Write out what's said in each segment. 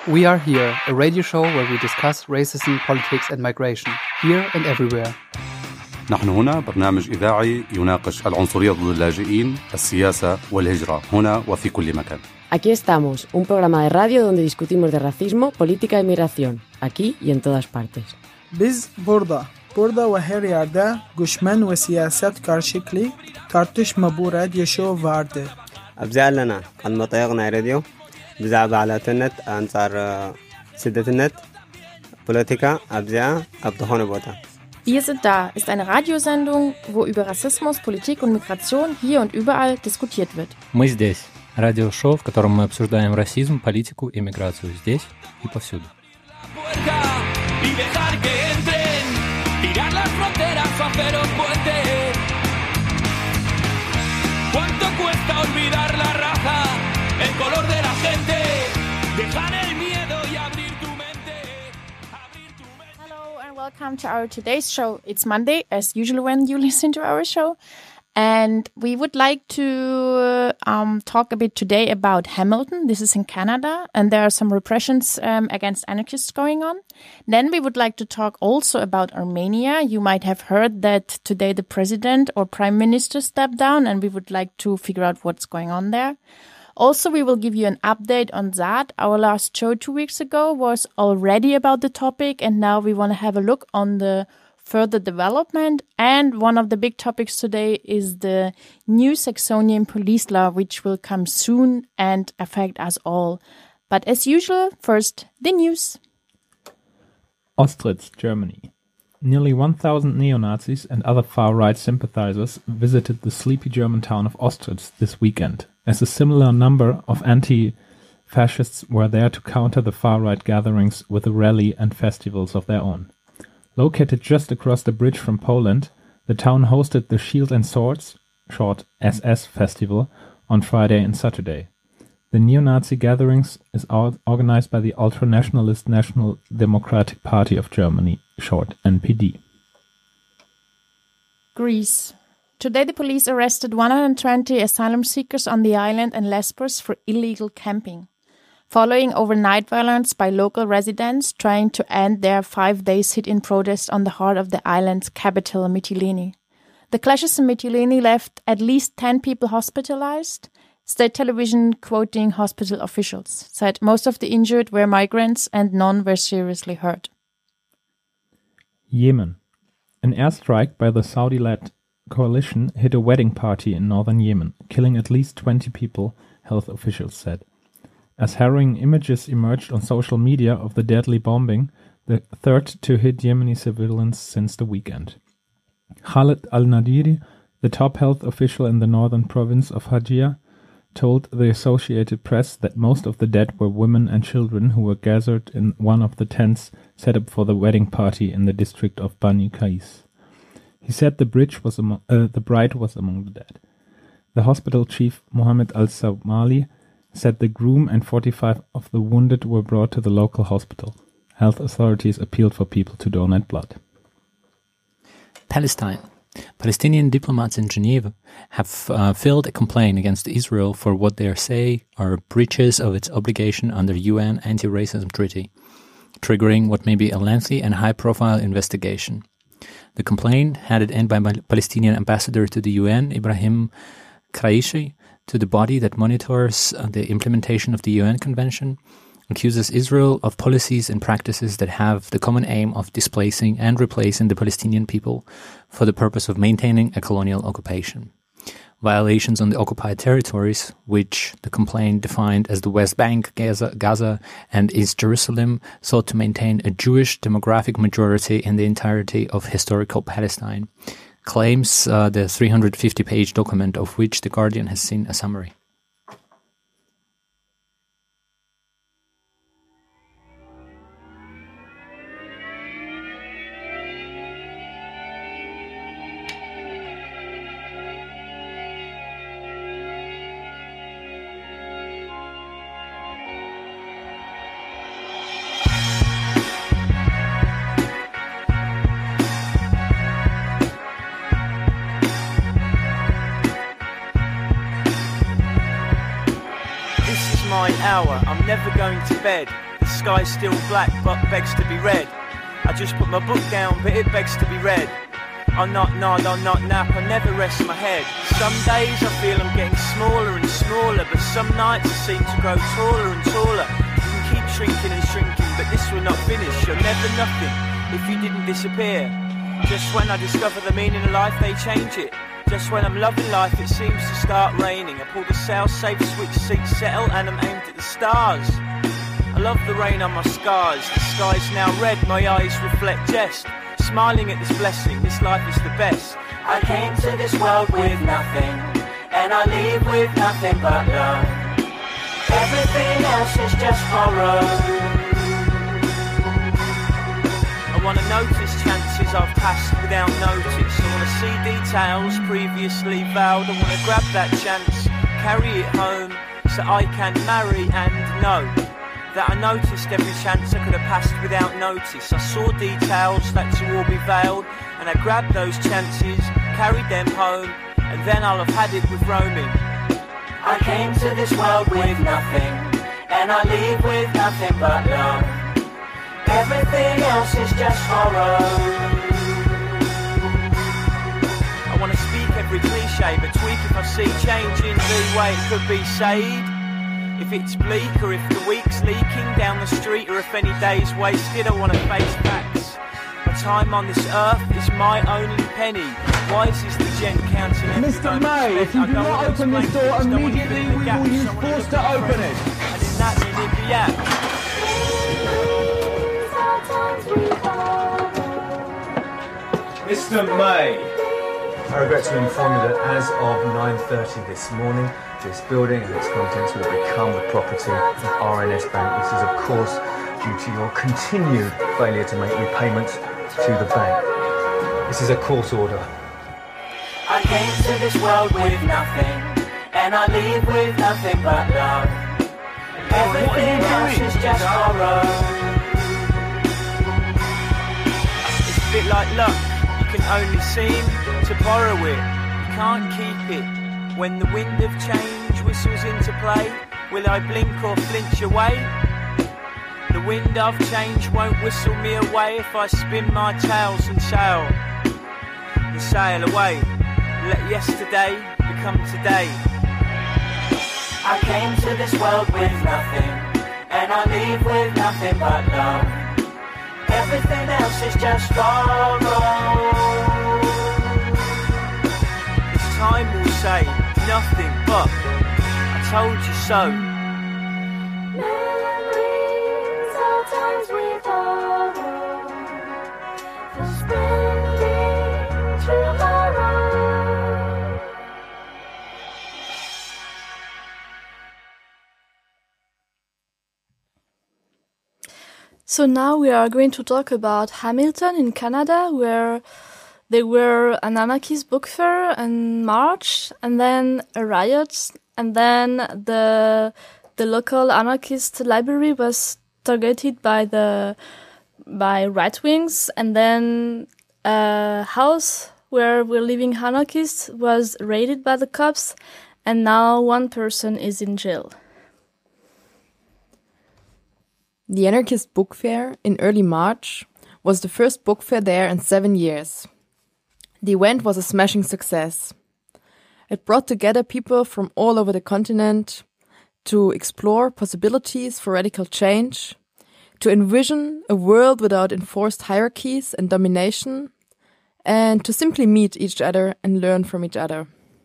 We are here, a radio show where we discuss racism, politics and migration, here and everywhere. نحن هنا برنامج إذاعي يناقش العنصرية ضد اللاجئين، السياسة والهجرة، هنا وفي كل مكان. Aquí estamos, un programa de radio donde discutimos de racismo, política y migración, aquí y en todas partes. Biz burada ve her yerde göçmen ve siyaset karşılıklı tartışma bu radyo show vardır. أبزع لنا المطيقنا راديو بزعب على تنت أنصار سدة النت بوليتيكا أبزع أبدهون بوتا. Wir sind da ist eine Radiosendung, wo über Rassismus, Politik und Migration hier und überall diskutiert wird. Мы здесь. Радиошоу, в котором мы обсуждаем расизм, политику и миграцию здесь и повсюду. Hello and welcome to our today's show. It's Monday, as usual when you listen to our show. And we would like to talk a bit today about Hamilton. This is in Canada, and there are some repressions against anarchists going on. Then we would like to talk also about Armenia. You might have heard that today the president or prime minister stepped down, and we would like to figure out what's going on there. Also, we will give you an update on that. Our last show 2 weeks ago was already about the topic, and now we want to have a look on the further development. And one of the big topics today is the new Saxonian police law, which will come soon and affect us all. But as usual, first, the news. Ostritz, Germany. Nearly 1,000 neo-Nazis and other far-right sympathizers visited the sleepy German town of Ostritz this weekend, as a similar number of anti-fascists were there to counter the far-right gatherings with a rally and festivals of their own. Located just across the bridge from Poland, the town hosted the Shield and Swords, short SS Festival, on Friday and Saturday. The neo-Nazi gatherings is organized by the ultra-nationalist National Democratic Party of Germany, short NPD. Greece. Today the police arrested 120 asylum seekers on the island and Lesbos for illegal camping, following overnight violence by local residents trying to end their 5-day sit-in protest on the heart of the island's capital, Mytilene. The clashes in Mytilene left at least 10 people hospitalized. State television, quoting hospital officials, said most of the injured were migrants and none were seriously hurt. Yemen. An airstrike by the Saudi-led coalition hit a wedding party in northern Yemen, killing at least 20 people, health officials said. As harrowing images emerged on social media of the deadly bombing, the third to hit Yemeni civilians since the weekend. Khaled al-Nadiri, the top health official in the northern province of Hajia, told the Associated Press that most of the dead were women and children who were gathered in one of the tents set up for the wedding party in the district of Bani Qais. He said the bride was among the dead. The hospital chief, Mohammed al-Sawmali, said the groom and 45 of the wounded were brought to the local hospital. Health authorities appealed for people to donate blood. Palestine. Palestinian diplomats in Geneva have filed a complaint against Israel for what they say are breaches of its obligation under UN Anti-Racism Treaty, triggering what may be a lengthy and high-profile investigation. The complaint, handed in by Palestinian ambassador to the UN, Ibrahim Kraishi, to the body that monitors the implementation of the UN Convention, accuses Israel of policies and practices that have the common aim of displacing and replacing the Palestinian people for the purpose of maintaining a colonial occupation. Violations on the occupied territories, which the complaint defined as the West Bank, Gaza, and East Jerusalem, sought to maintain a Jewish demographic majority in the entirety of historical Palestine, claims the 350-page document of which The Guardian has seen a summary. my hour, I'm never going to bed. The sky's still black but begs to be read. I just put my book down but it begs to be read. I'll not nod, I'll not nap, I never rest my head. Some days I feel I'm getting smaller and smaller, but some nights I seem to grow taller and taller. You can keep shrinking and shrinking, but this will not finish. You're never nothing if you didn't disappear. Just when I discover the meaning of life, they change it. Just when I'm loving life, it seems to start raining. I pull the sail-safe switch, seat settle, and I'm aimed at the stars. I love the rain on my scars. The sky's now red, my eyes reflect jest. Smiling at this blessing, this life is the best. I came to this world with nothing, and I leave with nothing but love. Everything else is just horror. I wanna notice chances I've passed without notice. I wanna see details previously vowed. I wanna grab that chance, carry it home, so I can marry and know that I noticed every chance I could have passed without notice. I saw details that to all be veiled, and I grabbed those chances, carried them home, and then I'll have had it with roaming. I came to this world with nothing, and I leave with nothing but love. Everything else is just horror. I want to speak every cliche, but tweak if I see change in the way it could be said. If it's bleak, or if the week's leaking down the street, or if any day's wasted, I want to face facts. My time on this earth is my only penny. Wise is the gent counting. Mr. May, if you do not open this door immediately, we will use force to open it. And in that minute, the app. Mr. May, I regret to inform you that as of 9:30 this morning, this building and its contents will become the property of RNS Bank. This is, of course, due to your continued failure to make repayments to the bank. This is a court order. I came to this world with nothing, and I leave with nothing but love. Everything else is just horror. It's a bit like luck. You can only seem to borrow it. You can't keep it. When the wind of change whistles into play, will I blink or flinch away? The wind of change won't whistle me away if I spin my tails and sail away. Let yesterday become today. I came to this world with nothing, and I leave with nothing but love. Everything else is just borrowed. This time will say nothing but I told you so. Memories of times we borrowed, for spending tomorrow. So now we are going to talk about Hamilton in Canada, where there were an anarchist book fair in March, and then a riot, and then the local anarchist library was targeted by right wings, and then a house where were living anarchists was raided by the cops, and now one person is in jail. The Anarchist Book Fair in early March was the first book fair there in 7 years. The event was a smashing success. It brought together people from all over the continent to explore possibilities for radical change, to envision a world without enforced hierarchies and domination, and to simply meet each other and learn from each other.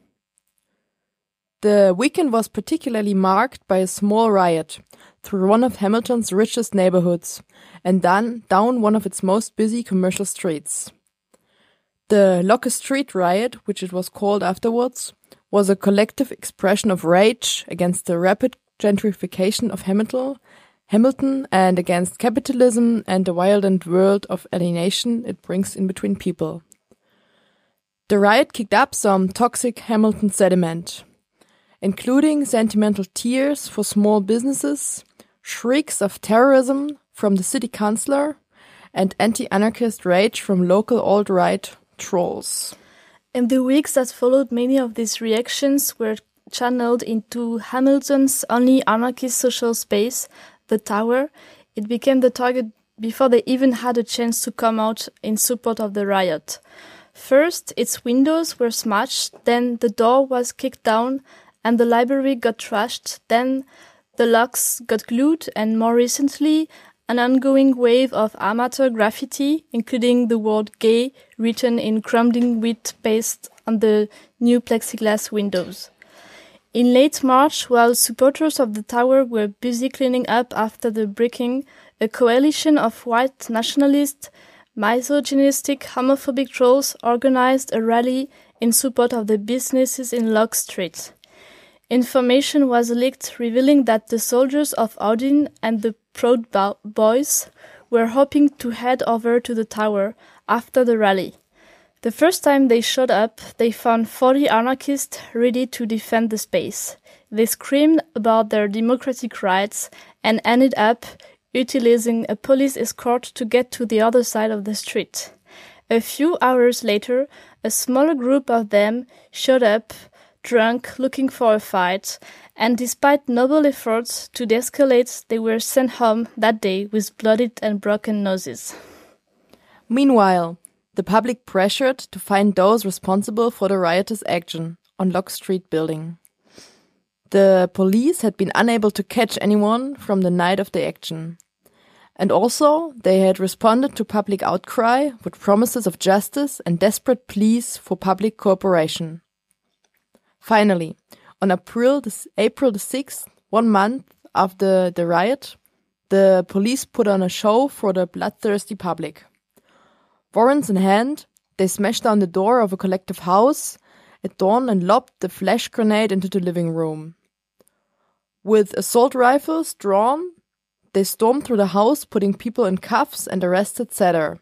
The weekend was particularly marked by a small riot through one of Hamilton's richest neighborhoods and down one of its most busy commercial streets. The Locust Street riot, which it was called afterwards, was a collective expression of rage against the rapid gentrification of Hamilton and against capitalism and the violent world of alienation it brings in between people. The riot kicked up some toxic Hamilton sediment, including sentimental tears for small businesses, shrieks of terrorism from the city councillor, and anti-anarchist rage from local alt-right trolls. In the weeks that followed, many of these reactions were channeled into Hamilton's only anarchist social space, the Tower, it became the target before they even had a chance to come out in support of the riot. First, its windows were smashed, then the door was kicked down and the library got trashed, then the locks got glued, and more recently, an ongoing wave of amateur graffiti, including the word gay written in crumbling wheat paste on the new plexiglass windows. In late March, while supporters of the tower were busy cleaning up after the breaking, a coalition of white nationalist, misogynistic, homophobic trolls organized a rally in support of the businesses in Locke Street. Information was leaked revealing that the soldiers of Odin and the Proud Boys were hoping to head over to the tower after the rally. The first time they showed up, they found 40 anarchists ready to defend the space. They screamed about their democratic rights and ended up utilizing a police escort to get to the other side of the street. A few hours later, a smaller group of them showed up, drunk, looking for a fight, and despite noble efforts to de-escalate, they were sent home that day with bloodied and broken noses. Meanwhile, the public pressured to find those responsible for the riotous action on Locke Street building. The police had been unable to catch anyone from the night of the action. And also, they had responded to public outcry with promises of justice and desperate pleas for public cooperation. Finally, on April the 6th, 1 month after the riot, the police put on a show for the bloodthirsty public. Warrants in hand, they smashed down the door of a collective house at dawn and lobbed the flash grenade into the living room. With assault rifles drawn, they stormed through the house, putting people in cuffs, and arrested Seder.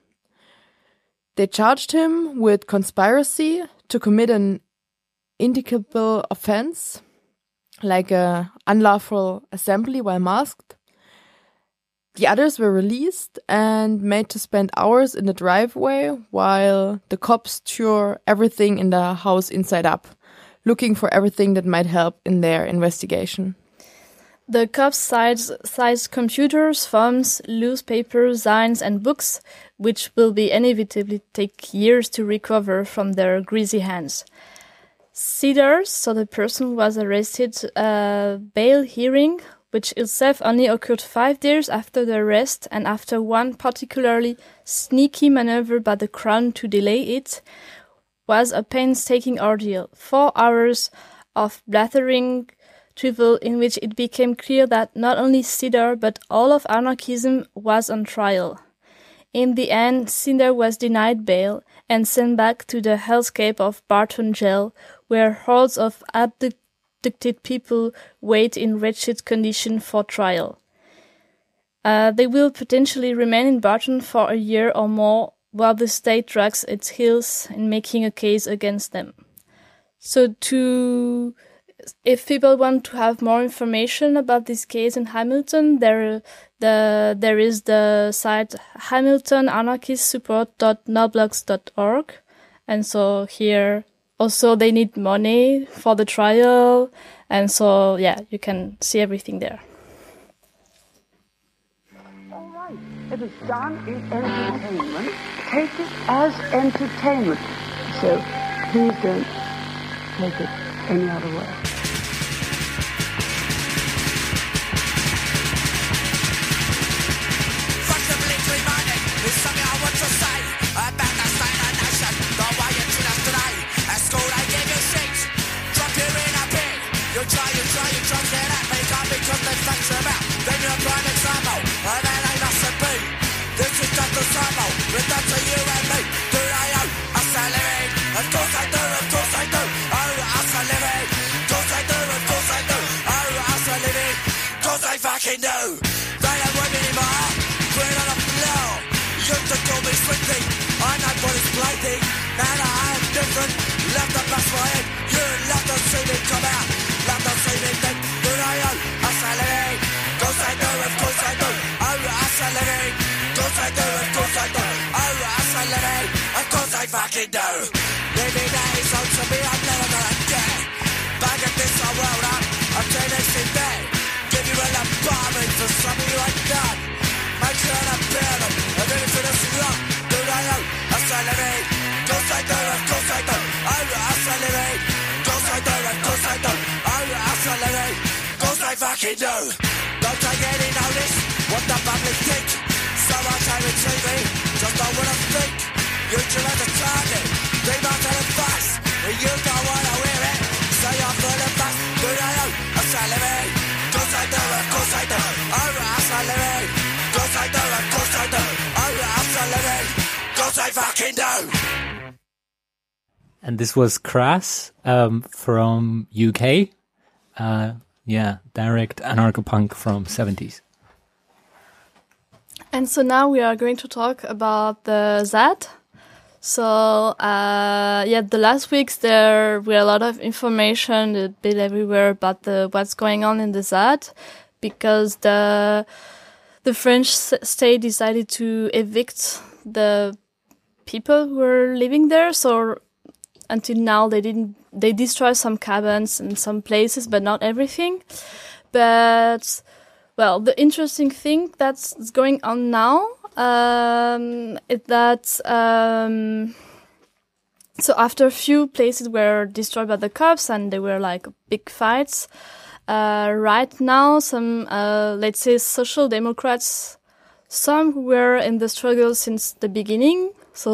They charged him with conspiracy to commit an indictable offense, like an unlawful assembly while masked. The others were released and made to spend hours in the driveway while the cops tore everything in the house inside up, looking for everything that might help in their investigation. The cops seized computers, phones, newspapers, signs, and books, which will be inevitably take years to recover from their greasy hands. Seder, so the person who was arrested, bail hearing, which itself only occurred 5 days after the arrest and after one particularly sneaky maneuver by the Crown to delay it, was a painstaking ordeal. 4 hours of blathering trial in which it became clear that not only Seder but all of anarchism was on trial. In the end, Seder was denied bail and sent back to the hellscape of Barton Jail, where hordes of abducted people wait in wretched condition for trial. They will potentially remain in Barton for a year or more while the state drags its heels in making a case against them. So if people want to have more information about this case in Hamilton, there is the site hamiltonanarchistsupport.noblogs.org, and so here also they need money for the trial, and so yeah, you can see everything there. All right, if it's done in entertainment, take it as entertainment. So please don't take it any other way. Fucking no, they don't want me anymore. Put it on the floor. You used to call me sweetie. I know what it's blading. Now that I am different. Love to bust my head. You love to see me come out. Love to see me think. Do they know? I say living. Cause I do, of course I do. Oh, I say living. Cause I do, of course I do. Oh, I say living. Of course I fucking do. Living days on to me, I'm never gonna get. Back at this, I rolled up. I'm doing this in bed. Give you an apartment for something you ain't done. trying to bear them. And then it's this wrong. Do they know? I celebrate. Cause I do, of course I do. I celebrate. Cause I do, of course I do. I celebrate. Cause I fucking do. Don't take any notice what the public think. So I try to TV, just don't wanna think. You two as a target, they might tell it fast. You don't wanna wear it, say I'm full of fast. Do they know? I celebrate. Cause I do, of course I do. I celebrate. Cause I do, of course I do. I celebrate. Cause I fucking do. And this was Crass from UK. Direct anarcho-punk from 70s. And so now we are going to talk about the ZAD. So, the last weeks there were a lot of information a bit everywhere about what's going on in the ZAD, because the French state decided to evict the people who were living there. So until now they destroyed some cabins in some places, but not everything. But well, the interesting thing that's going on now is that so after a few places were destroyed by the cops and there were like big fights, right now some let's say social democrats, some who were in the struggle since the beginning,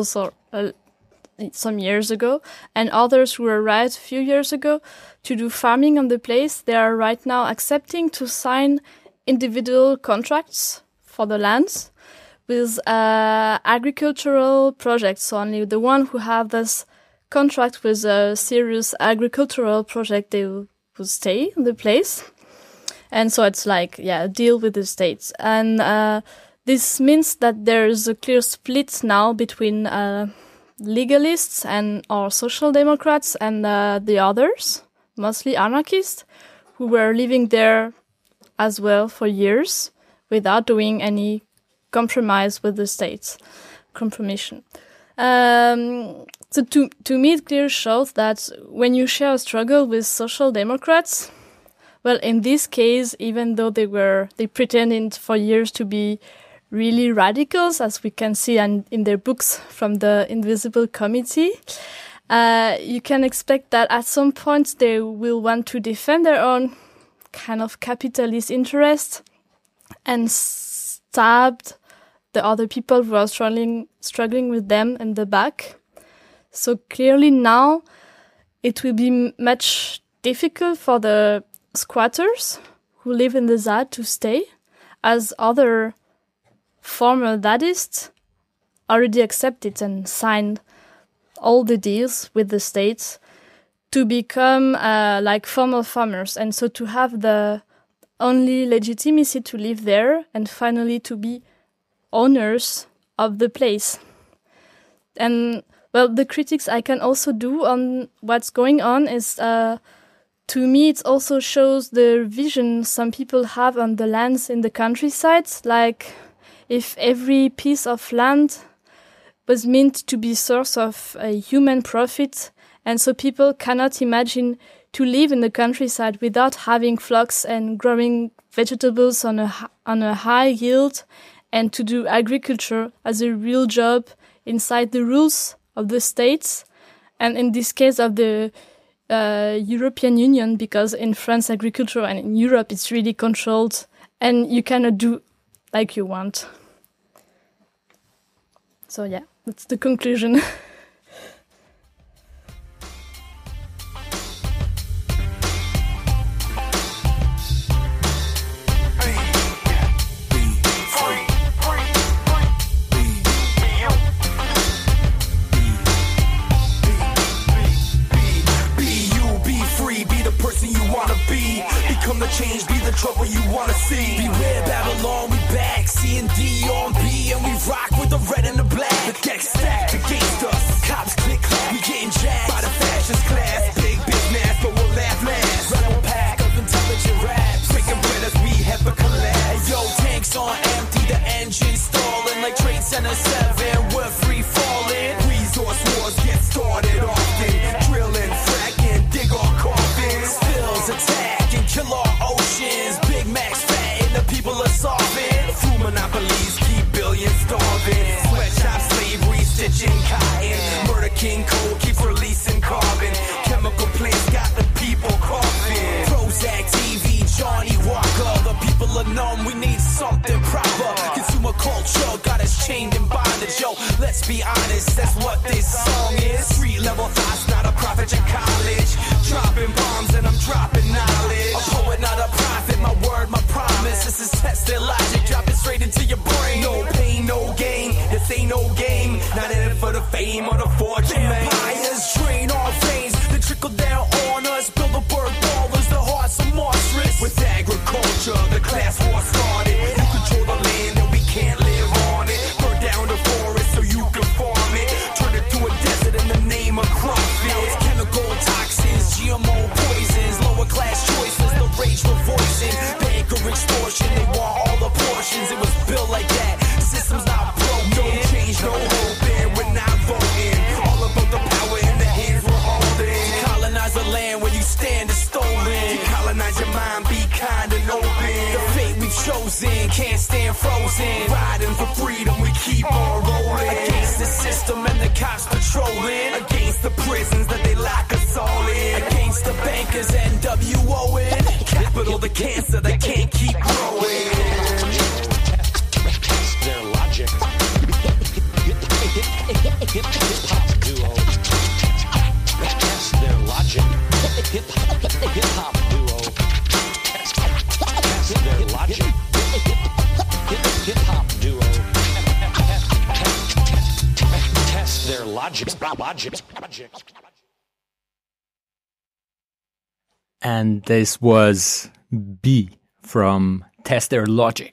some years ago, and others who were right a few years ago to do farming on the place, they are right now accepting to sign individual contracts for the lands with agricultural projects. So only the one who have this contract with a serious agricultural project, they will stay in the place. And so it's like, a deal with the states. And this means that there is a clear split now between legalists and or social democrats and the others, mostly anarchists, who were living there as well for years without doing any compromise with the states, compromission. So to me, it clearly shows that when you share a struggle with social democrats, well, in this case, even though they pretended for years to be really radicals, as we can see in their books from the Invisible Committee, you can expect that at some point they will want to defend their own kind of capitalist interest and stabbed the other people who are struggling with them in the back. So clearly now it will be much difficult for the squatters who live in the ZAD to stay, as other former Dadists already accepted and signed all the deals with the states to become like formal farmers, and so to have the only legitimacy to live there and finally to be owners of the place. And well, the critics I can also do on what's going on is, to me, it also shows the vision some people have on the lands in the countryside. Like, if every piece of land was meant to be source of human profit, and so people cannot imagine to live in the countryside without having flocks and growing vegetables on a high yield, and to do agriculture as a real job inside the rules of the states, and in this case of the European Union, because in France agriculture and in Europe it's really controlled and you cannot do like you want. So yeah, that's the conclusion. Become the change, be the trouble you wanna see. Beware Babylon, we back, C&D on B, and we rock with the red and the black. The deck stacked against us, cops click clap, we getting jacked by the fascist class. Big business, but we'll laugh last. Rebel pack of intelligent raps, breaking bread as we have a collapse. Yo, tanks on empty, the engine stalling like Trade Center 7. We're free falling. Resource wars get started often. Drilling, fracking, dig our coffins. Spills attack. Kill our oceans, Big Macs fat and the people are solving. Through monopolies, keep King Cole keeps releasing carbon. Chemical plants got the people coughing. Prozac, TV, Johnny Walker. The people are numb, we need something proper. Consumer culture got us chained in bondage. Yo, let's be honest, that's what this song is. Street level thoughts, not a prophet at college. Dropping bombs and I'm dropping knowledge. A poet, not a prophet, my word, my promise. This is tested logic, drop it straight into your brain. No pain, no gain, this ain't no game. Not in it for the fame or the fortune, man. Vampires drain our veins, they trickle down on us. Build the bird ballers, the hearts are monstrous. With agriculture, the class war started. You control the land and we can't live on it. Burn down the forest so you can farm it. Turn it to a desert in the name of crop fields. Chemical toxins, GMO poisons. Lower class choices, the rage for voicing. Banker extortion, they want all the portions. It was built like that, system's not broken. Don't change, no hoping, we're not voting. All about the power in the hands we're holding. Colonize the land where you stand is stolen. Colonize your mind, be kind and open. The fate we've chosen can't stand frozen. Riding for freedom, we keep on rolling. Against the system and the cops patrolling. Against the prisons that they lock us all in. Against the bankers and WON. Capital the cancer that can't keep growing. Test their logic. Hip-hop duo. Test their logic. Hip-hop duo. Test their logic. Hip-hop duo. Test their logic. And this was B from Test Their Logic.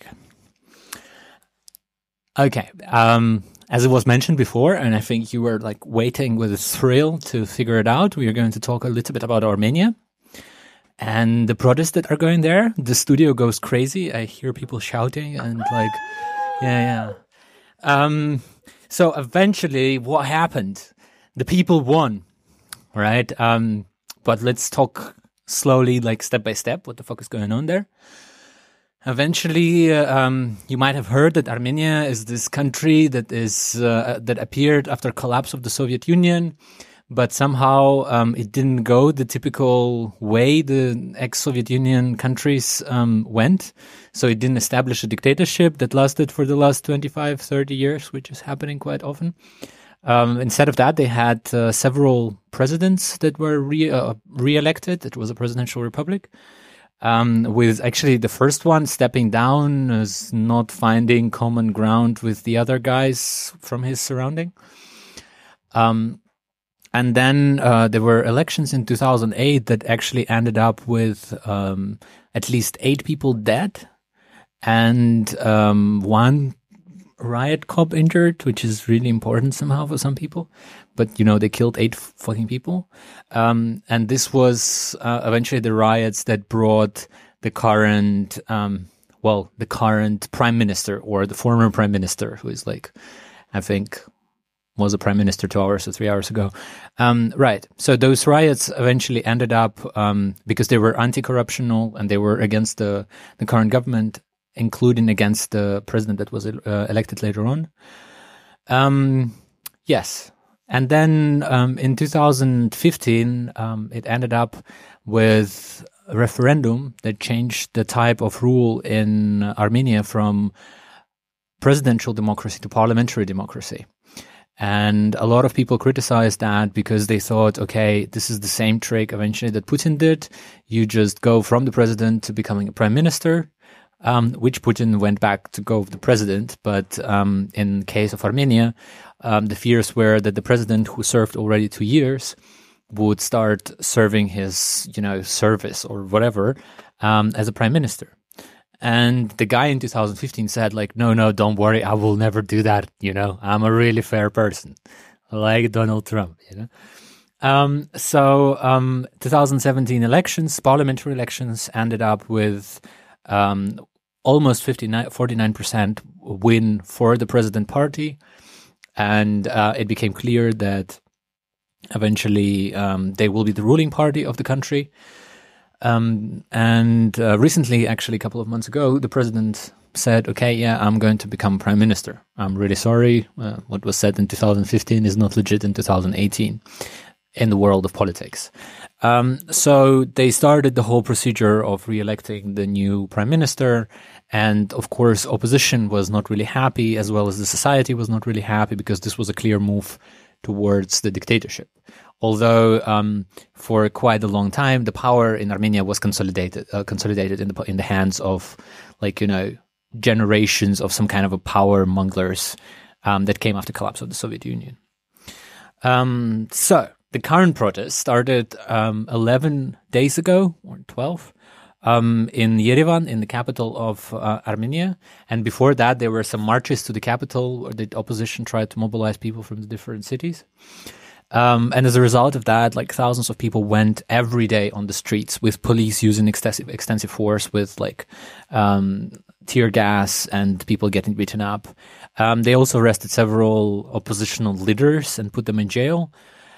Okay, as it was mentioned before, and I think you were like waiting with a thrill to figure it out, we are going to talk a little bit about Armenia and the protests that are going there. The studio goes crazy. I hear people shouting and like, yeah. So eventually what happened? The people won, right? But let's talk slowly, like step by step, what the fuck is going on there. Eventually, you might have heard that Armenia is this country that is that appeared after collapse of the Soviet Union, but somehow it didn't go the typical way the ex-Soviet Union countries went. So it didn't establish a dictatorship that lasted for the last 25, 30 years, which is happening quite often. Instead of that, they had several presidents that were re-elected. It was a presidential republic. With actually the first one stepping down as not finding common ground with the other guys from his surrounding. And then there were elections in 2008 that actually ended up with at least 8 people dead and 1 riot cop injured, which is really important somehow for some people. But, you know, they killed 8 fucking people. And this was eventually the riots that brought the current, the current prime minister or the former prime minister, who is like, I think, was a prime minister 2 hours or 3 hours ago. Right. So those riots eventually ended up, because they were anti-corruptional and they were against the current government, including against the president that was elected later on. Yes. And then in 2015, it ended up with a referendum that changed the type of rule in Armenia from presidential democracy to parliamentary democracy. And a lot of people criticized that because they thought, okay, this is the same trick eventually that Putin did. You just go from the president to becoming a prime minister. Which Putin went back to go with the president. But in case of Armenia, the fears were that the president, who served already 2 years, would start serving his, service or whatever as a prime minister. And the guy in 2015 said, like, no, don't worry, I will never do that. I'm a really fair person, like Donald Trump. 2017 elections, parliamentary elections, ended up with almost 49% win for the president party. And it became clear that eventually they will be the ruling party of the country. And recently, actually a couple of months ago, the president said, okay, yeah, I'm going to become prime minister. I'm really sorry. What was said in 2015 is not legit in 2018 in the world of politics. So they started the whole procedure of re-electing the new prime minister. And of course, opposition was not really happy, as well as the society was not really happy, because this was a clear move towards the dictatorship. Although for quite a long time, the power in Armenia was consolidated in the hands of, generations of some kind of a power monglers that came after the collapse of the Soviet Union. So the current protest started 11 days ago, or 12, in Yerevan, in the capital of Armenia. And before that, there were some marches to the capital where the opposition tried to mobilize people from the different cities. And as a result of that, thousands of people went every day on the streets, with police using extensive force, with tear gas and people getting beaten up. They also arrested several oppositional leaders and put them in jail.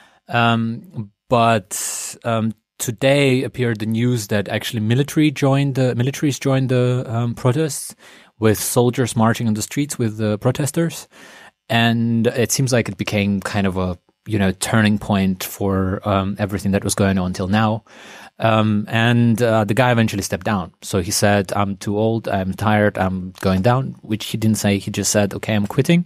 But today appeared the news that actually militaries joined the protests, with soldiers marching on the streets with the protesters. And it seems like it became kind of a turning point for everything that was going on until now. And the guy eventually stepped down. So he said, I'm too old, I'm tired, I'm going down, which he didn't say. He just said, okay, I'm quitting.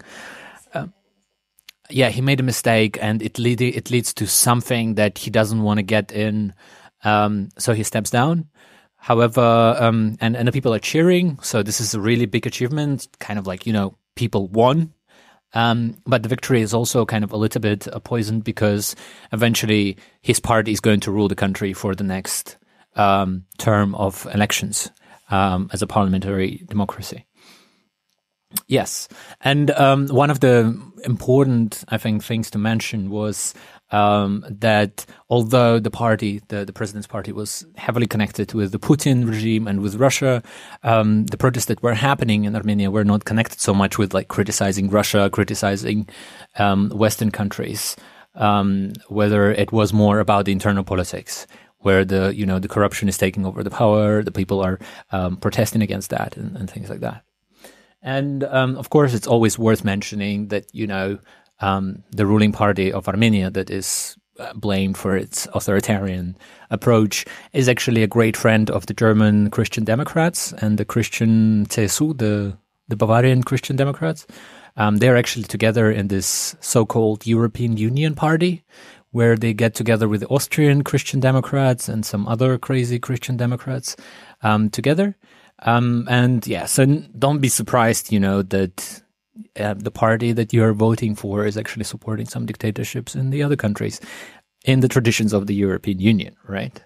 He made a mistake, and it leads to something that he doesn't want to get in. So he steps down. However, and the people are cheering. So this is a really big achievement, kind of people won. But the victory is also kind of a little bit poisoned, because eventually his party is going to rule the country for the next term of elections as a parliamentary democracy. Yes. And one of the important, I think, things to mention was that although the party, the president's party, was heavily connected with the Putin regime and with Russia, the protests that were happening in Armenia were not connected so much with criticizing Russia, criticizing Western countries, whether it was more about the internal politics, where the corruption is taking over the power, the people are protesting against that and things like that. And of course, it's always worth mentioning that, the ruling party of Armenia, that is blamed for its authoritarian approach, is actually a great friend of the German Christian Democrats and the Christian CSU, the Bavarian Christian Democrats. They're actually together in this so-called European Union party, where they get together with the Austrian Christian Democrats and some other crazy Christian Democrats together. So don't be surprised, that the party that you're voting for is actually supporting some dictatorships in the other countries, in the traditions of the European Union, right?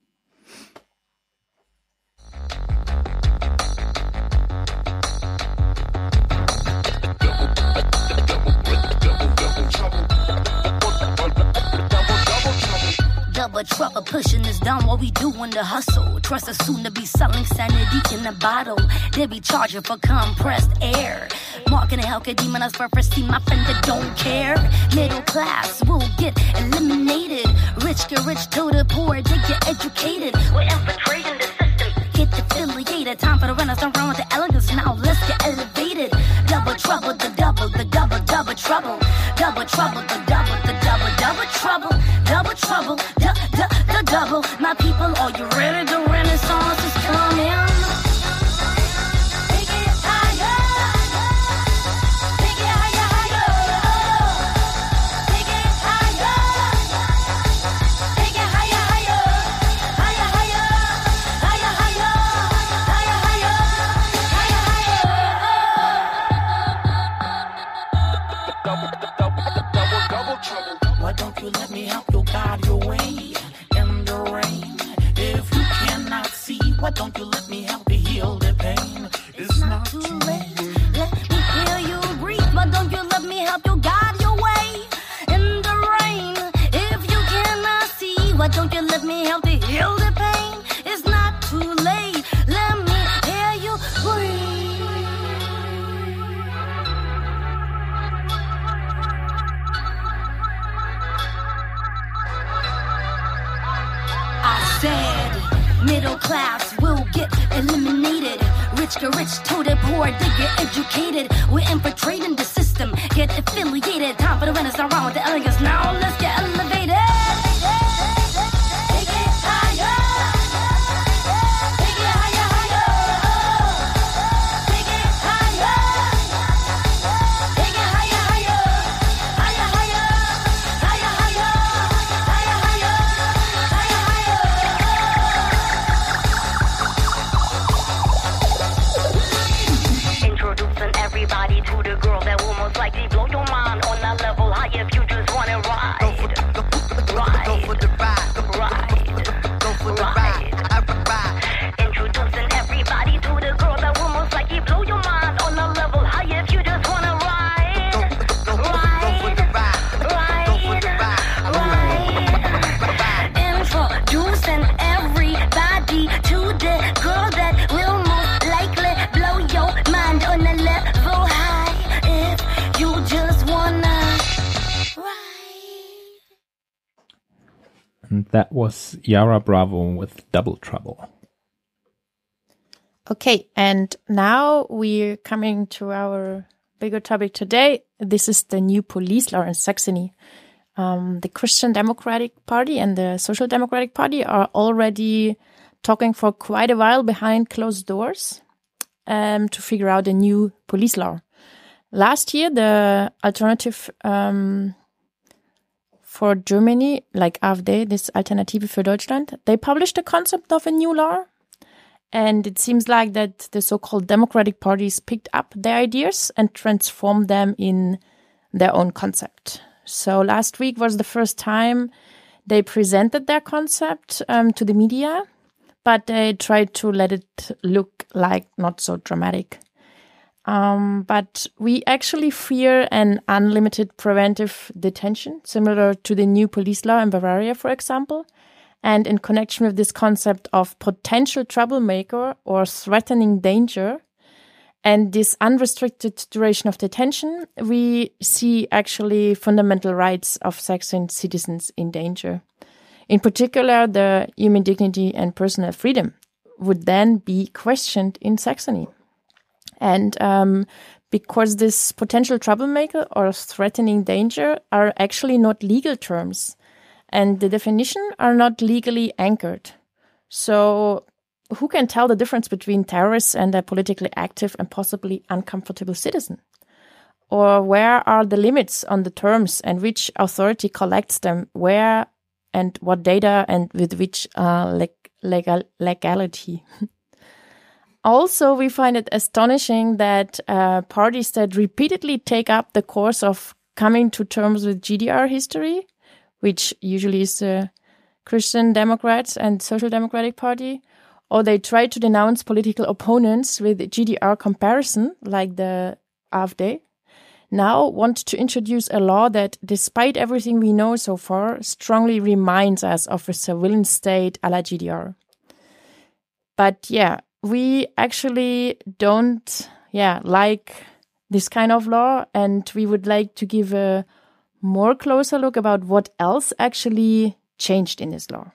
Double trouble pushing us down while we doing the hustle. Trust us soon to be selling sanity in a bottle. They be charging for compressed air. Marking a hell could demonize for first team. My friend that don't care. Middle class will get eliminated. Rich get rich to the poor. They get educated. We're infiltrating the system. Get affiliated. Time for the renaissance run with the elegance. Now let's get elevated. Double trouble, the double trouble. Double trouble, the double trouble. Double trouble, the double. My people, are you ready? The renaissance is coming. Take it higher. Take it higher, higher. Take it higher. Take it higher, higher. Higher, higher. Higher, higher. Higher, higher. Double trouble. Why don't you let me help you guide your way in the rain? If you cannot see, why don't you let me help you heal the pain? It's not too late. Let me hear you breathe. Why don't you let me help you guide your way in the rain? If you cannot see, why don't you let me help you heal the pain? It's not too late. Let me hear you breathe. I said middle class will get eliminated. Rich get rich to the poor, they get educated. We're infiltrating the system, get affiliated. Time for the renaissance around with the elegance. Now let's get elevated. Take it higher. Take it higher, higher. Take it higher. Take it higher, higher. Higher, higher. Higher, higher. Higher, higher. Higher, higher. Introducing everybody to the girl that will most likely blow your mind on that level high if you just want to ride. Go for the ride. Go for the ride. Go for the ride. Introducing everybody to the girl that will most likely blow your mind on a level high if you just want to ride. Go for the ride. Go for the ride. Introducing everybody to the girl that will most likely blow your mind on a level high if you just wanna ride. And that was Yara Bravo with Double Trouble. Okay, and now we're coming to our bigger topic today. This is the new police law in Saxony. The Christian Democratic Party and the Social Democratic Party are already talking for quite a while behind closed doors to figure out a new police law. Last year, the Alternative for Germany, like AfD, this Alternative für Deutschland, they published a concept of a new law. And it seems like that the so-called democratic parties picked up their ideas and transformed them in their own concept. So last week was the first time they presented their concept to the media, but they tried to let it look like not so dramatic. But we actually fear an unlimited preventive detention, similar to the new police law in Bavaria, for example. And in connection with this concept of potential troublemaker or threatening danger and this unrestricted duration of detention, we see actually fundamental rights of Saxon citizens in danger. In particular, the human dignity and personal freedom would then be questioned in Saxony. And because this potential troublemaker or threatening danger are actually not legal terms, and the definition are not legally anchored. So who can tell the difference between terrorists and a politically active and possibly uncomfortable citizen? Or where are the limits on the terms and which authority collects them, where and what data and with which legality? Also, we find it astonishing that parties that repeatedly take up the course of coming to terms with GDR history, which usually is the Christian Democrats and Social Democratic Party, or they try to denounce political opponents with GDR comparison, like the AfD, now want to introduce a law that, despite everything we know so far, strongly reminds us of a surveillance state a la GDR. But yeah, we actually don't like this kind of law, and we would like to give a more closer look about what else actually changed in this law.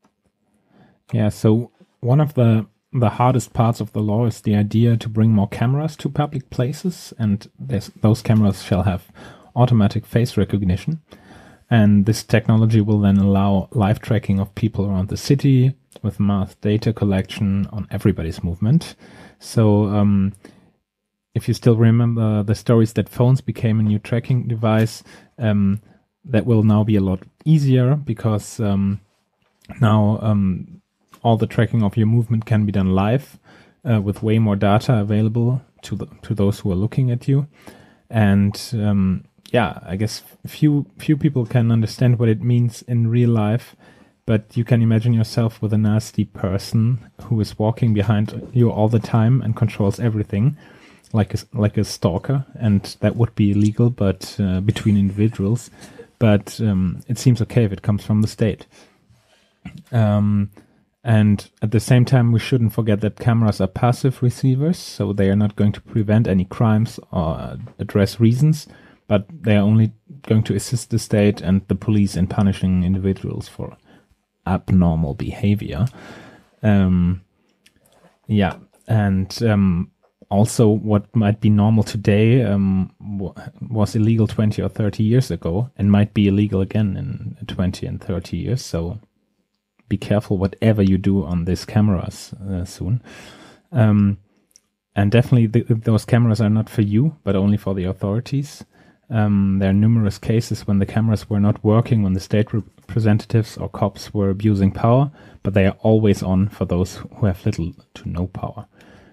Yeah, so one of the hardest parts of the law is the idea to bring more cameras to public places, and those cameras shall have automatic face recognition. And this technology will then allow live tracking of people around the city with mass data collection on everybody's movement. So if you still remember the stories that phones became a new tracking device, that will now be a lot easier because now all the tracking of your movement can be done live with way more data available to those who are looking at you. And I guess few people can understand what it means in real life, but you can imagine yourself with a nasty person who is walking behind you all the time and controls everything, like a stalker, and that would be illegal, but between individuals. But it seems okay if it comes from the state. And at the same time, we shouldn't forget that cameras are passive receivers, so they are not going to prevent any crimes or address reasons, but they are only going to assist the state and the police in punishing individuals for abnormal behavior. Also, what might be normal today was illegal 20 or 30 years ago and might be illegal again in 20 and 30 years. So be careful whatever you do on these cameras soon. And definitely those cameras are not for you, but only for the authorities. There are numerous cases when the cameras were not working, when the state representatives or cops were abusing power, but they are always on for those who have little to no power.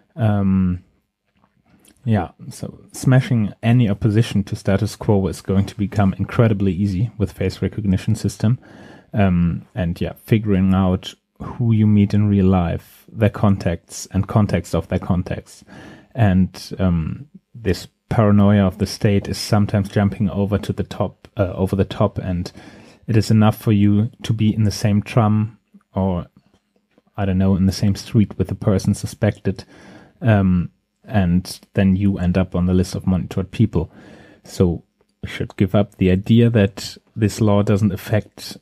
So smashing any opposition to status quo is going to become incredibly easy with face recognition system. Figuring out who you meet in real life, their contacts and context of their contacts. And this paranoia of the state is sometimes jumping over the top, and it is enough for you to be in the same tram or, I don't know, in the same street with the person suspected, and then you end up on the list of monitored people. So we should give up the idea that this law doesn't affect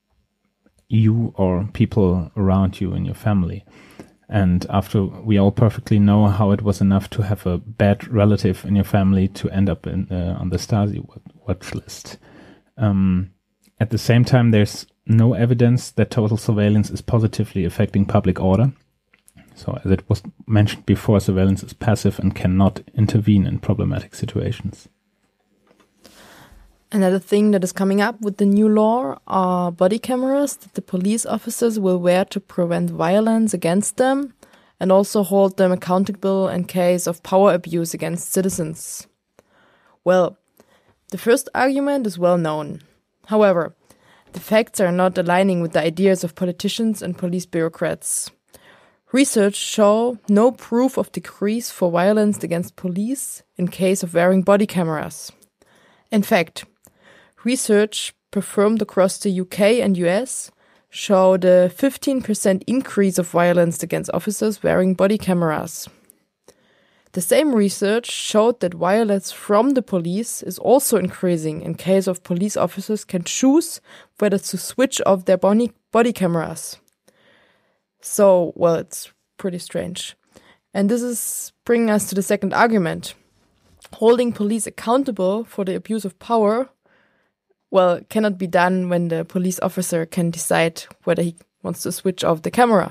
you or people around you in your family. And after we all perfectly know how it was enough to have a bad relative in your family to end up on the Stasi watch list. At the same time, there's no evidence that total surveillance is positively affecting public order. So as it was mentioned before, surveillance is passive and cannot intervene in problematic situations. Another thing that is coming up with the new law are body cameras that the police officers will wear to prevent violence against them and also hold them accountable in case of power abuse against citizens. Well, the first argument is well known. However, the facts are not aligning with the ideas of politicians and police bureaucrats. Research show no proof of decrease for violence against police in case of wearing body cameras. In fact, research performed across the UK and US showed a 15% increase of violence against officers wearing body cameras. The same research showed that violence from the police is also increasing in case of police officers can choose whether to switch off their body cameras. So, well, it's pretty strange. And this is bringing us to the second argument. Holding police accountable for the abuse of power, well, cannot be done when the police officer can decide whether he wants to switch off the camera.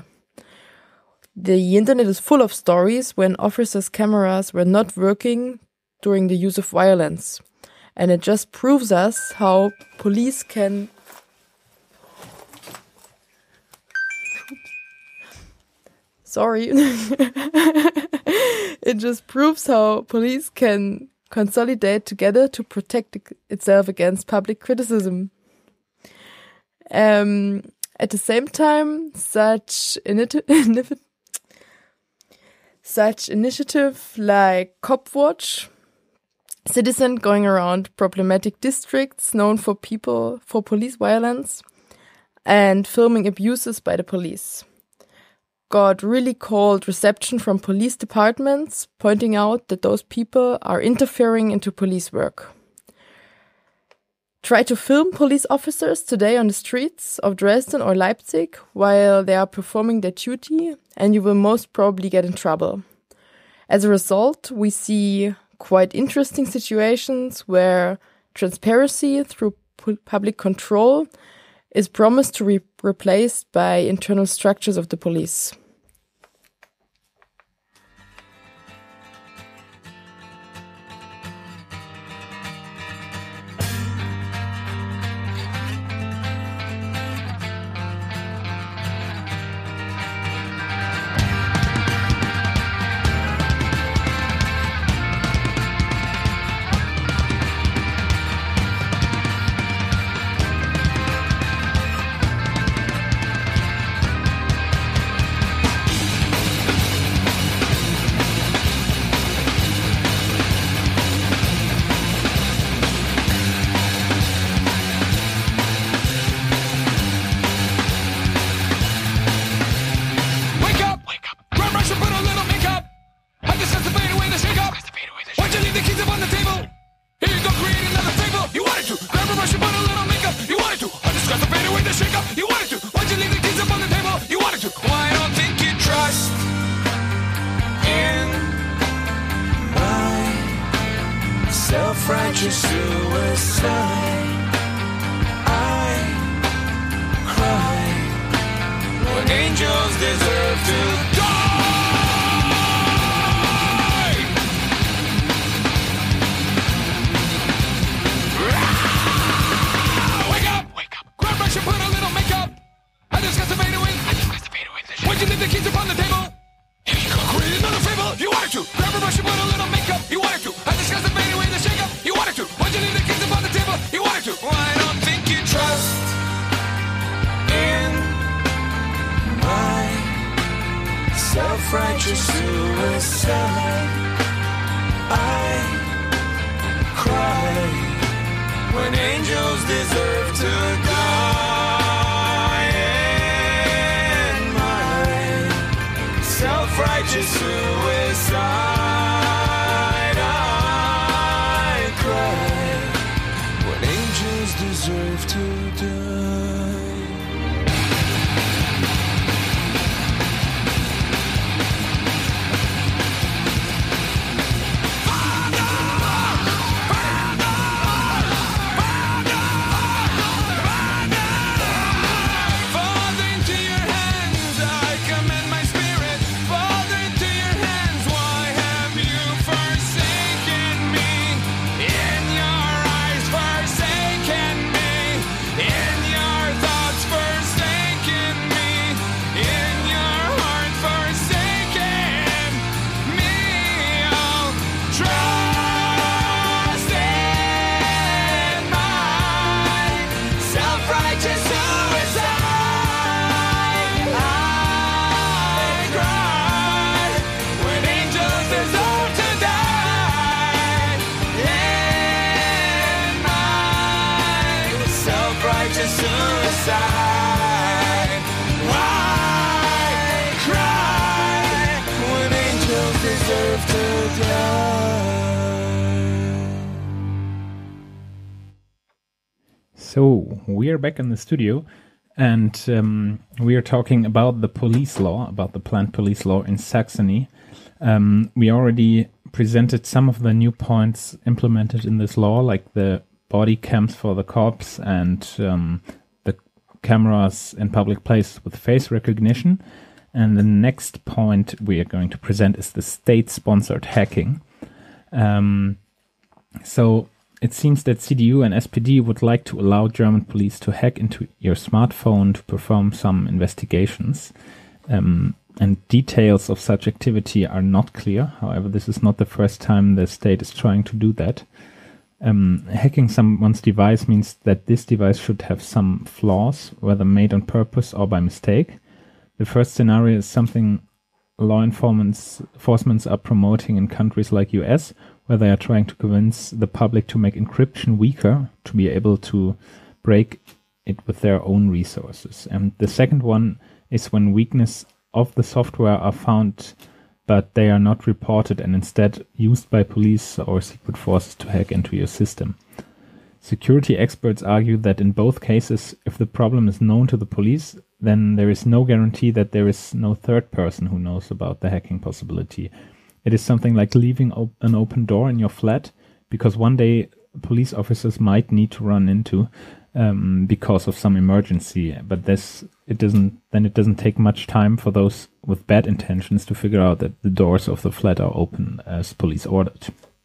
The internet is full of stories when officers' cameras were not working during the use of violence. And it just proves us how police can... Sorry. It just proves how police can consolidate together to protect itself against public criticism. At the same time, such initiative like Copwatch, citizen going around problematic districts known for police violence, and filming abuses by the police, got really cold reception from police departments, pointing out that those people are interfering into police work. Try to film police officers today on the streets of Dresden or Leipzig while they are performing their duty, and you will most probably get in trouble. As a result, we see quite interesting situations where transparency through public control is promised to be replaced by internal structures of the police. self-righteous suicide. I cry when angels deserve to die. Wake up! Grab brush and put a little makeup. I discussed the fade away. Why'd you leave the keys upon the table? Here you go. Create another fable. You wanted to. Grab a brush and put a little makeup. You wanted to. I discussed the fade away, the shake up. You wanted to. Why'd you leave the keys upon the table? You wanted to. Well, I don't think you trust in my self-righteous suicide. I cry when angels deserve to die. In my self-righteous suicide, I cry when angels deserve to die. Father, into your hands I commend my spirit. Father, into your hands, why have you forsaken me? In your eyes, forsaken me. In your thoughts, forsaken me. In your heart, forsaken me. Oh, trust in my self-righteous suicide. I cry when angels deserve to die. In my self-righteous suicide, I cry when angels deserve to die. So, we are back in the studio, and we are talking about the police law, about the planned police law in Saxony. We already presented some of the new points implemented in this law, like the body cams for the cops and the cameras in public places with face recognition. And the next point we are going to present is the state-sponsored hacking. So it seems that CDU and SPD would like to allow German police to hack into your smartphone to perform some investigations. And details of such activity are not clear. However, this is not the first time the state is trying to do that. Hacking someone's device means that this device should have some flaws, whether made on purpose or by mistake. The first scenario is something law enforcement are promoting in countries like US, where they are trying to convince the public to make encryption weaker to be able to break it with their own resources. And the second one is when weakness of the software are found, but they are not reported and instead used by police or secret forces to hack into your system. Security experts argue that in both cases, if the problem is known to the police, then there is no guarantee that there is no third person who knows about the hacking possibility. It is something like leaving an open door in your flat, because one day police officers might need to run into because of some emergency. But it doesn't take much time for those with bad intentions to figure out that the doors of the flat are open as police ordered.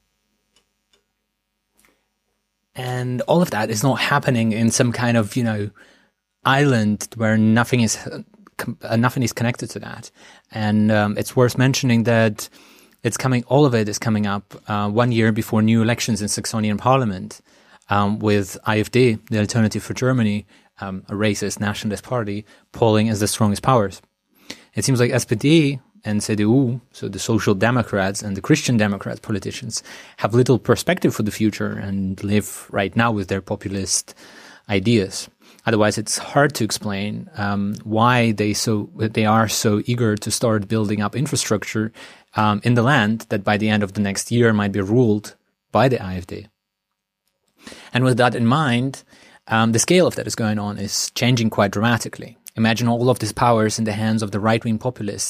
And all of that is not happening in some kind of, island where nothing is connected to that. And it's worth mentioning that all of it is coming up 1 year before new elections in Saxonian Parliament, with AfD, the Alternative for Germany, a racist nationalist party, polling as the strongest powers. It seems like SPD and CDU, so the Social Democrats and the Christian Democrats politicians, have little perspective for the future and live right now with their populist ideas. Otherwise, it's hard to explain why they are so eager to start building up infrastructure in the land that by the end of the next year might be ruled by the AfD. And with that in mind, the scale of that is going on is changing quite dramatically. Imagine all of these powers in the hands of the right-wing populists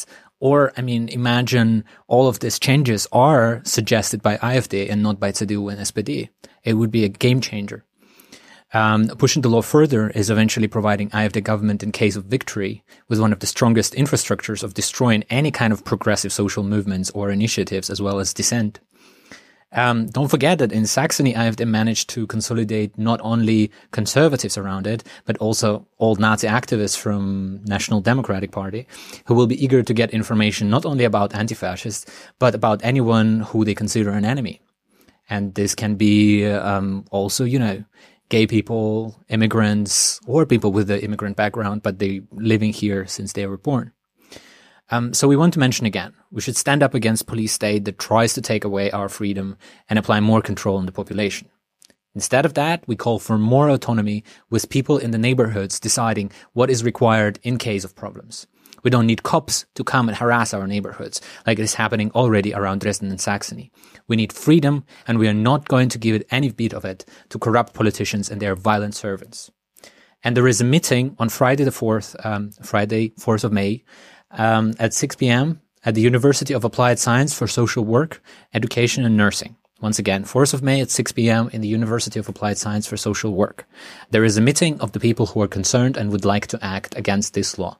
Or, I mean, imagine all of these changes are suggested by AfD and not by CDU and SPD. It would be a game changer. Pushing the law further is eventually providing AfD government in case of victory with one of the strongest infrastructures of destroying any kind of progressive social movements or initiatives as well as dissent. Don't forget that in Saxony, AfD managed to consolidate not only conservatives around it, but also old Nazi activists from National Democratic Party, who will be eager to get information not only about anti-fascists, but about anyone who they consider an enemy. And this can be also, gay people, immigrants, or people with an immigrant background, but they living here since they were born. So we want to mention again, we should stand up against police state that tries to take away our freedom and apply more control on the population. Instead of that, we call for more autonomy with people in the neighborhoods deciding what is required in case of problems. We don't need cops to come and harass our neighborhoods like it is happening already around Dresden and Saxony. We need freedom, and we are not going to give it any bit of it to corrupt politicians and their violent servants. And there is a meeting on Friday, 4th of May, at 6 p.m. at the University of Applied Science for Social Work, Education and Nursing. Once again, 4th of May at 6 p.m. in the University of Applied Science for Social Work. There is a meeting of the people who are concerned and would like to act against this law.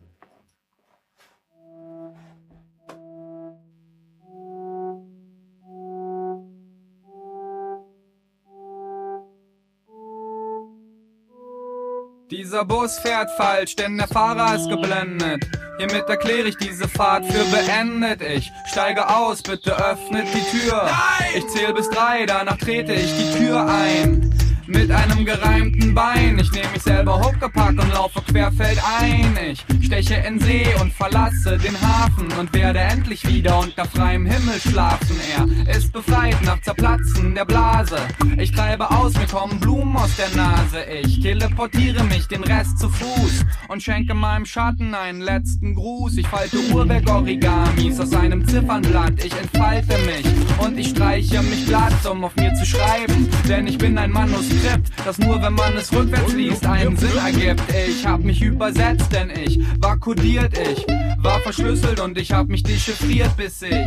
Dieser Bus fährt falsch, denn der Fahrer ist geblendet. Hiermit erkläre ich diese Fahrt für beendet. Ich steige aus, bitte öffnet die Tür. Nein! Ich zähle bis 3, danach trete ich die Tür ein. Mit einem gereimten Bein. Ich nehme mich selber hochgepackt und laufe querfeldein. Ich steche in See und verlasse den Hafen und werde endlich wieder unter freiem Himmel schlafen. Er ist befreit nach Zerplatzen der Blase. Ich treibe aus, mir kommen Blumen aus der Nase. Ich teleportiere mich den Rest zu Fuß und schenke meinem Schatten einen letzten Gruß. Ich falte Uhrwerk-Origamis aus einem Ziffernblatt. Ich entfalte mich und ich streiche mich glatt, um auf mir zu schreiben. Denn ich bin ein Manuskript, das nur, wenn man es rückwärts liest, einen Sinn ergibt. Ich hab mich übersetzt, denn ich war kodiert, ich war verschlüsselt und ich hab mich dechiffriert, bis ich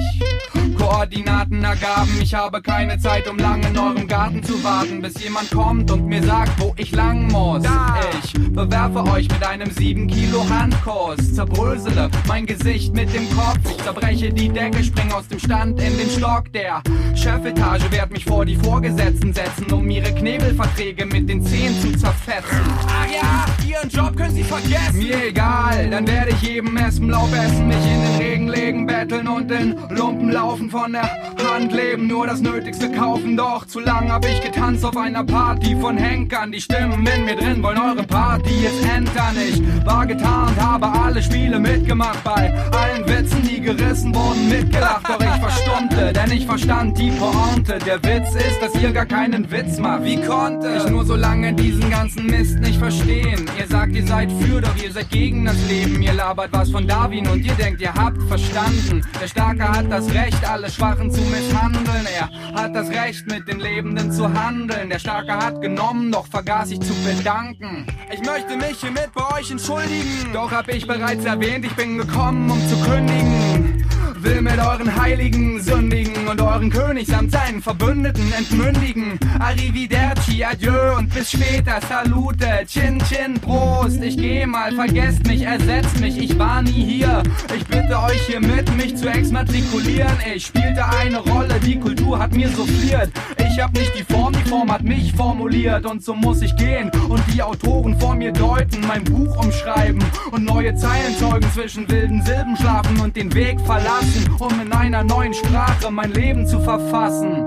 Koordinaten ergaben. Ich habe keine Zeit, um lang in eurem Garten zu warten, bis jemand kommt und mir sagt, wo ich lang muss. Ich bewerfe euch mit einem 7 Kilo Handkuss, zerbrösele mein Gesicht mit dem Kopf. Ich zerbreche die Decke, spring aus dem Stand in den Stock der Chefetage, werd mich vor die Vorgesetzten setzen, um ihre Knebelverträge mit den Zähnen zu zerfetzen. Ach ja, ihren Job können sie vergessen. Mir egal, dann werde ich jedem Espenlaub essen, mich in den Regen legen, betteln und in Lumpen laufen, von der Hand leben, nur das Nötigste kaufen. Doch zu lang hab ich getanzt auf einer Party von Henkern. Die Stimmen in mir drin wollen eure Party jetzt entern. Ich war getarnt, habe alle Spiele mitgemacht, bei allen Witzen, die gerissen wurden, mitgelacht. Doch ich verstummte, denn ich verstand die Pointe. Der Witz ist, dass ihr gar keinen Witz macht. Wie konnte ich nur so lange diesen ganzen Mist nicht verstehen? Ihr sagt, ihr seid für, doch ihr seid gegen das Leben. Ihr labert was von Darwin und ihr denkt, ihr habt verstanden. Der Starke hat das Recht, alle Schwachen zu misshandeln. Er hat das Recht, mit den Lebenden zu handeln. Der Starke hat genommen, doch vergaß ich zu bedanken. Ich möchte mich hiermit bei euch entschuldigen. Doch hab ich bereits erwähnt, ich bin gekommen, um zu kündigen. Will mit euren Heiligen sündigen und euren König samt seinen Verbündeten entmündigen. Arrivederci, adieu und bis später, salute, chin chin, Prost. Ich geh mal, vergesst mich, ersetzt mich, ich war nie hier. Ich bitte euch hiermit, mich zu exmatrikulieren. Ich spielte eine Rolle, die Kultur hat mir souffliert. Ich hab nicht die Form hat mich formuliert. Und so muss ich gehen und die Autoren vor mir deuten, mein Buch umschreiben und neue Zeilen zeugen, zwischen wilden Silben schlafen und den Weg verlassen, um in einer neuen Sprache mein Leben zu verfassen.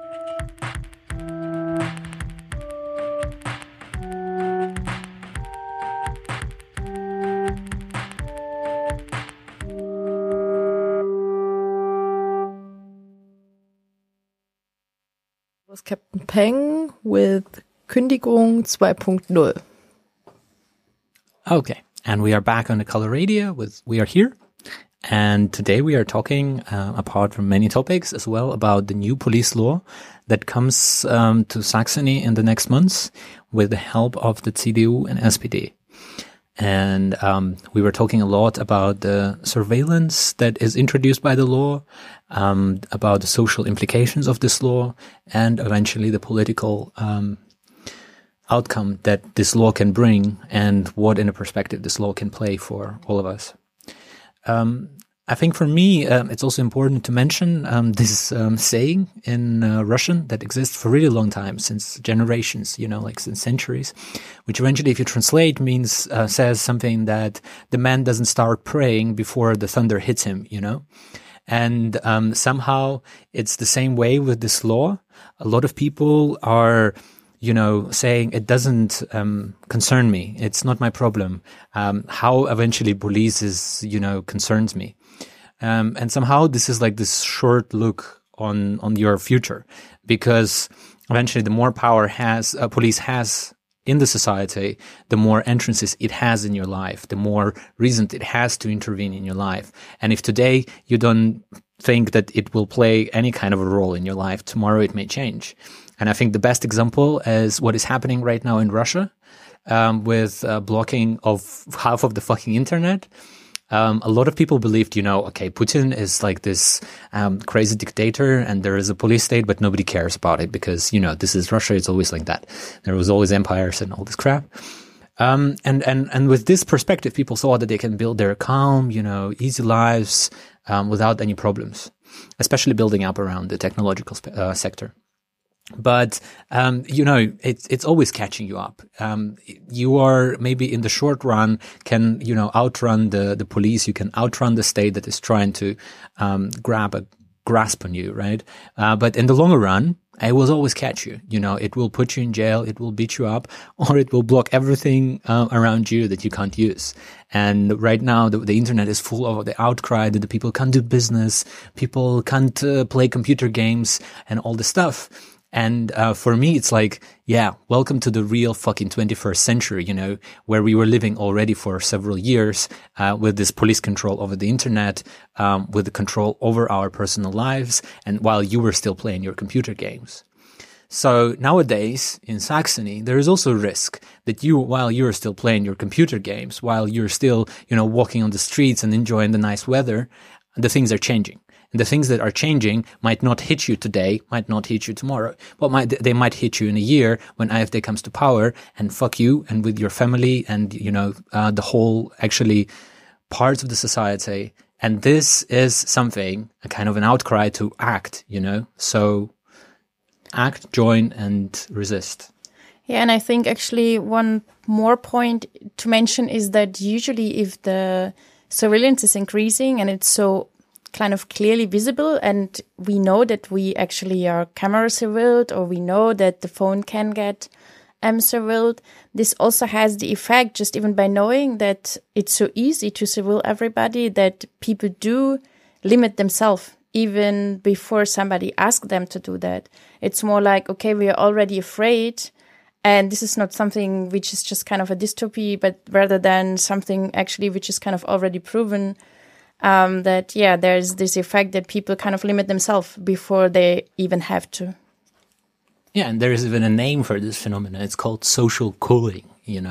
Was Captain Peng with Kündigung 2.0. Okay, and we are back on the Color Radio. We are here, and today we are talking, apart from many topics, as well about the new police law that comes to Saxony in the next months with the help of the CDU and SPD. And we were talking a lot about the surveillance that is introduced by the law, about the social implications of this law, and eventually the political outcome that this law can bring, and what in a perspective this law can play for all of us. I think for me, it's also important to mention this saying in Russian that exists for a really long time, since generations, like since centuries, which eventually, if you translate, means says something that the man doesn't start praying before the thunder hits him, And somehow it's the same way with this law. A lot of people are saying it doesn't concern me. It's not my problem. How eventually police is, concerns me. And somehow this is like this short look on your future, because eventually the more power police has in the society, the more entrances it has in your life, the more reason it has to intervene in your life. And if today you don't think that it will play any kind of a role in your life, tomorrow it may change. And I think the best example is what is happening right now in Russia, with blocking of half of the fucking internet. A lot of people believed, okay, Putin is like this crazy dictator and there is a police state, but nobody cares about it because, this is Russia. It's always like that. There was always empires and all this crap. And with this perspective, people saw that they can build their calm, easy lives without any problems, especially building up around the technological sector. But, it's always catching you up. You are maybe in the short run can, outrun the police. You can outrun the state that is trying to, grab a grasp on you, right? But in the longer run, it will always catch you. It will put you in jail. It will beat you up, or it will block everything, around you that you can't use. And right now, the internet is full of the outcry that the people can't do business. People can't, play computer games and all this stuff. And for me, it's like, welcome to the real fucking 21st century, where we were living already for several years with this police control over the internet, with the control over our personal lives, and while you were still playing your computer games. So nowadays in Saxony, there is also a risk that while you're still playing your computer games, while you're still, walking on the streets and enjoying the nice weather, the things are changing. And the things that are changing might not hit you today, might not hit you tomorrow, but they might hit you in a year when AfD comes to power and fuck you and with your family and, the whole actually parts of the society. And this is something, a kind of an outcry to act, So act, join and resist. Yeah, and I think actually one more point to mention is that usually if the surveillance is increasing and it's so kind of clearly visible and we know that we actually are camera surveilled, or we know that the phone can get surveilled, this also has the effect, just even by knowing that it's so easy to surveil everybody, that people do limit themselves even before somebody asks them to do that. It's more like, okay, we are already afraid, and this is not something which is just kind of a dystopy, but rather than something actually which is kind of already proven, that, there's this effect that people kind of limit themselves before they even have to. Yeah, and there is even a name for this phenomenon. It's called social cooling,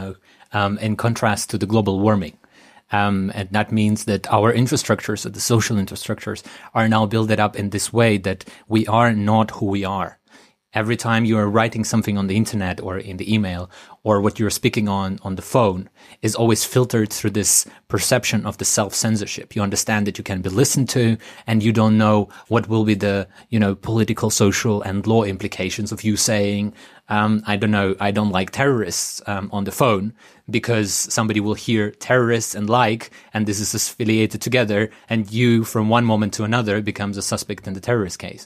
in contrast to the global warming. And that means that our infrastructures, the social infrastructures, are now built up in this way that we are not who we are. Every time you are writing something on the internet or in the email, or what you're speaking on the phone, is always filtered through this perception of the self-censorship. You understand that you can be listened to, and you don't know what will be the, political, social, and law implications of you saying, I don't like terrorists on the phone, because somebody will hear terrorists and this is affiliated together, and you, from one moment to another, becomes a suspect in the terrorist case.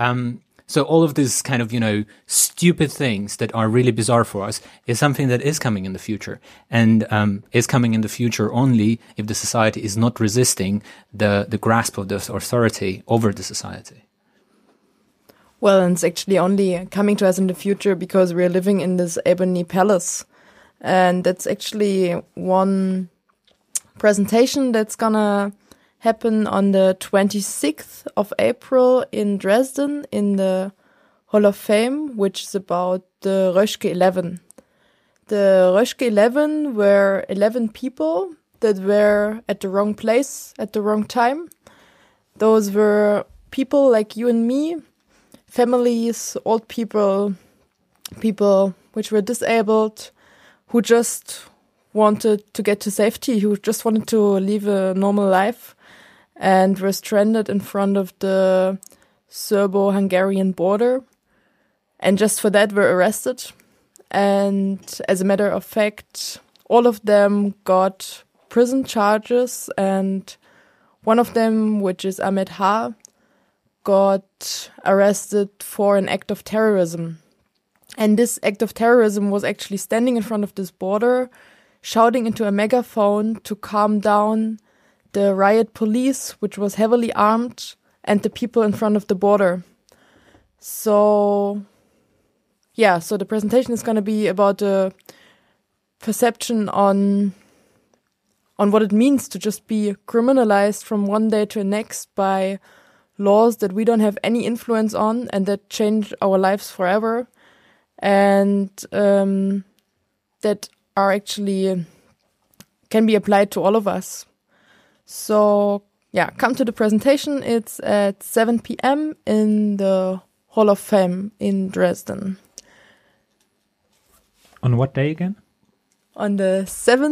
So all of these kind of, stupid things that are really bizarre for us is something that is coming in the future, and is coming in the future only if the society is not resisting the grasp of the authority over the society. Well, and it's actually only coming to us in the future because we're living in this ebony palace. And that's actually one presentation that's gonna happen on the 26th of April in Dresden in the Hall of Fame, which is about the Röschke 11. The Röschke 11 were 11 people that were at the wrong place at the wrong time. Those were people like you and me, families, old people, people which were disabled, who just wanted to get to safety, who just wanted to live a normal life, and were stranded in front of the Serbo-Hungarian border, and just for that were arrested. And as a matter of fact, all of them got prison charges, and one of them, which is Ahmed Ha, got arrested for an act of terrorism. And this act of terrorism was actually standing in front of this border, shouting into a megaphone to calm down the riot police, which was heavily armed, and the people in front of the border. So the presentation is going to be about the perception on what it means to just be criminalized from one day to the next by laws that we don't have any influence on and that change our lives forever, and that are actually can be applied to all of us. So come to the presentation. It's at 7 p.m. in the Hall of Fame in Dresden. On what day again? On the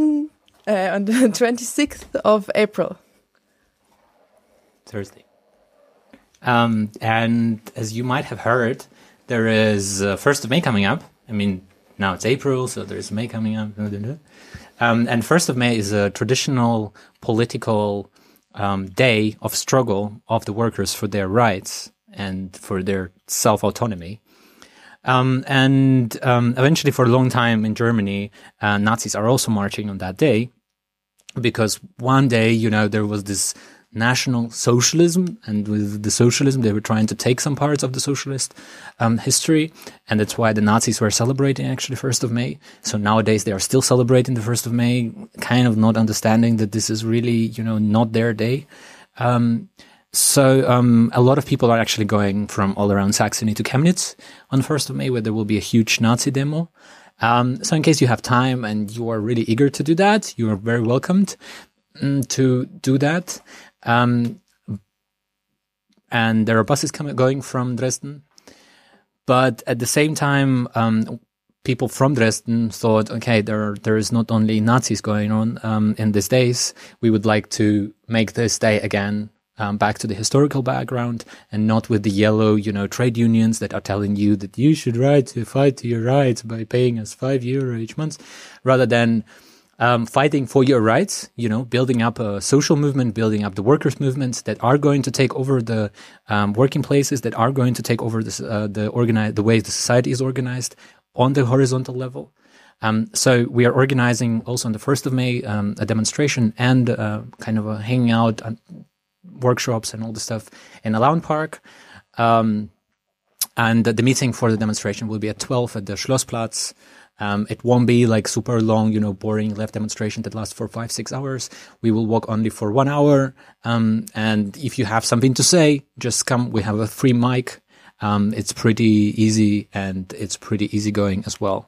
26th of April. Thursday. And as you might have heard, there is 1st of May coming up. I mean, now it's April, so there's May coming up. And 1st of May is a traditional political day of struggle of the workers for their rights and for their self-autonomy. Eventually, for a long time in Germany, Nazis are also marching on that day, because one day, there was this national socialism, and with the socialism, they were trying to take some parts of the socialist history, and that's why the Nazis were celebrating actually 1st of May. So nowadays, they are still celebrating the 1st of May, kind of not understanding that this is really, not their day. So a lot of people are actually going from all around Saxony to Chemnitz on 1st of May, where there will be a huge Nazi demo. So in case you have time and you are really eager to do that, you are very welcomed to do that. And there are buses going from Dresden. But at the same time, people from Dresden thought, okay, there is not only Nazis going on in these days. We would like to make this day again back to the historical background, and not with the yellow, trade unions that are telling you that you should fight to your rights by paying us €5 each month, rather than fighting for your rights, building up a social movement, building up the workers' movements that are going to take over the working places, that are going to take over the way the society is organized on the horizontal level. So we are organizing also on the 1st of May a demonstration and kind of a hanging out, workshops and all the stuff in Alaun Park. And the meeting for the demonstration will be at 12 at the Schlossplatz. It won't be like super long, boring left demonstration that lasts for 5-6 hours. We will walk only for 1 hour. And if you have something to say, just come. We have a free mic. It's pretty easy, and it's pretty easygoing as well.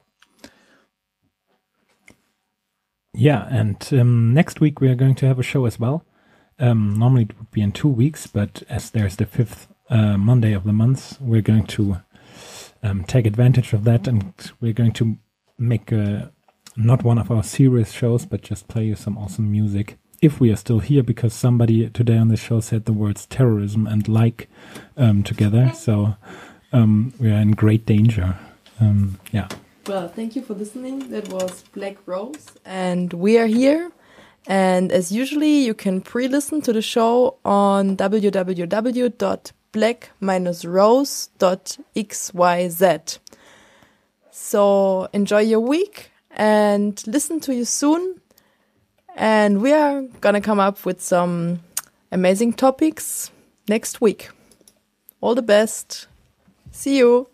Yeah, and next week we are going to have a show as well. Normally it would be in 2 weeks, but as there's the 5th Monday of the month, we're going to take advantage of that, and we're going to make not one of our serious shows, but just play you some awesome music. If we are still here, because somebody today on the show said the words terrorism and together, so we are in great danger. Well, thank you for listening. That was Black Rose, and we are here. And as usually, you can pre-listen to the show on www.black-rose.xyz. So enjoy your week and listen to you soon. And we are gonna come up with some amazing topics next week. All the best. See you.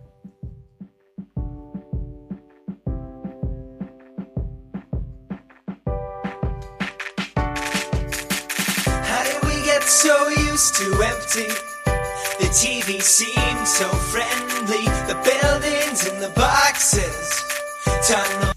So used to empty, the TV seemed so friendly, the buildings and the boxes, tunnels